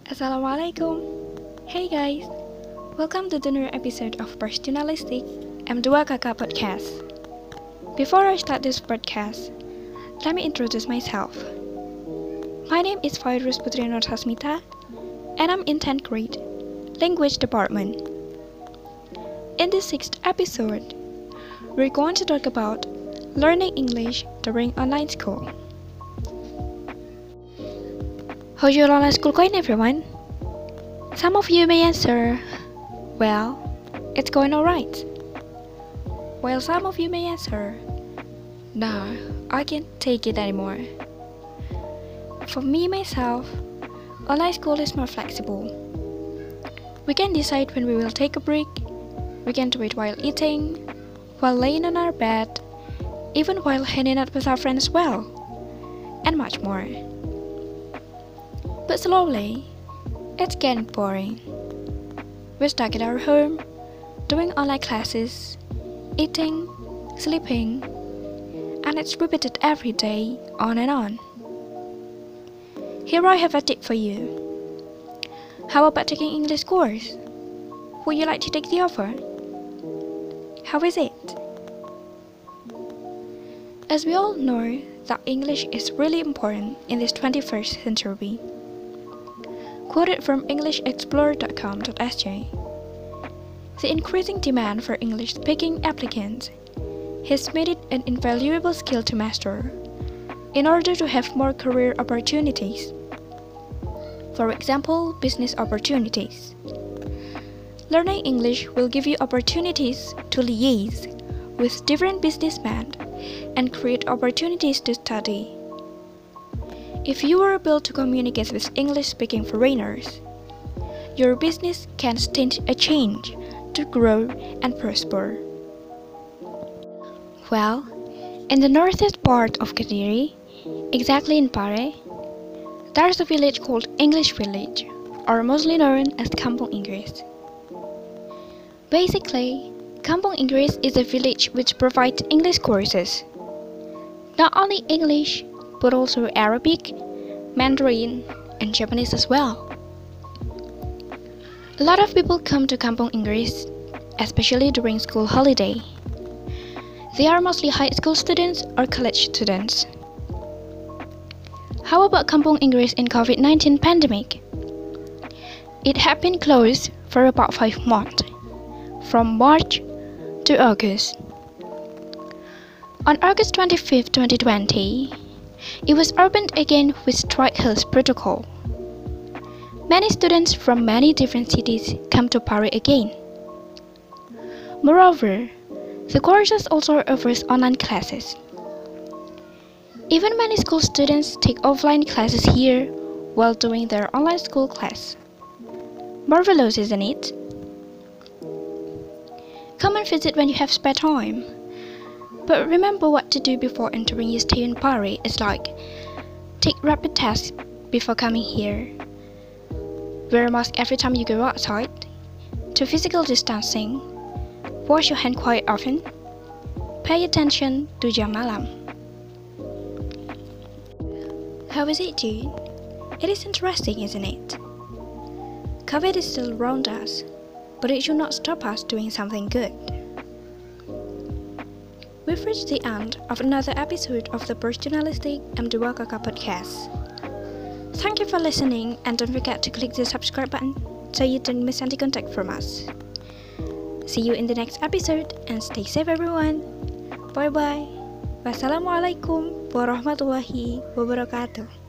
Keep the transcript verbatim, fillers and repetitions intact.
Assalamualaikum. Hey guys, welcome to the new episode of Personalistic M two Kakak Podcast. Before I start this podcast, let me introduce myself. My name is Fairuz Putri Nur Hasmita, and I'm in tenth grade, Language Department. In this sixth episode, we're going to talk about learning English during online school. How's your online school going, everyone? Some of you may answer, well, it's going alright. While some of you may answer, no, I can't take it anymore. For me, myself, online school is more flexible. We can decide when we will take a break, we can do it while eating, while laying on our bed, even while hanging out with our friends as well, and much more. But slowly, it's getting boring. We're stuck at our home, doing online classes, eating, sleeping, and it's repeated every day, on and on. Here I have a tip for you. How about taking English course? Would you like to take the offer? How is it? As we all know that English is really important in this twenty-first century. Quoted from english explorer dot com dot s j, the increasing demand for English-speaking applicants has made it an invaluable skill to master in order to have more career opportunities. For example, business opportunities. Learning English will give you opportunities to liaise with different businessmen and create opportunities to study. If you are able to communicate with English-speaking foreigners, your business can stand a change to grow and prosper. Well, in the northeast part of Kediri, exactly in Pare, there's a village called English Village, or mostly known as Kampung Inggris. Basically, Kampung Inggris is a village which provides English courses. Not only English, but also Arabic, Mandarin, and Japanese as well. A lot of people come to Kampung Inggris, especially during school holiday. They are mostly high school students or college students. How about Kampung Inggris in COVID nineteen pandemic? It had been closed for about five months, from March to August. On August twenty-fifth, twenty twenty, it was opened again with strict health protocol. Many students from many different cities come to Pare again. Moreover, the courses also offers online classes. Even many school students take offline classes here while doing their online school class. Marvelous, isn't it? Come and visit when you have spare time. But remember what to do before entering your stay in Pare. It's like, take rapid tests before coming here. Wear a mask every time you go outside. To physical distancing. Wash your hand quite often. Pay attention to jam malam. How is it, dude? It is interesting, isn't it? COVID is still around us, but it should not stop us doing something good. We've reached the end of another episode of the Personalistic M two Kakak Podcast. Thank you for listening, and don't forget to click the subscribe button so you don't miss any contact from us. See you in the next episode, and stay safe everyone. Bye bye. Wassalamualaikum warahmatullahi wabarakatuh.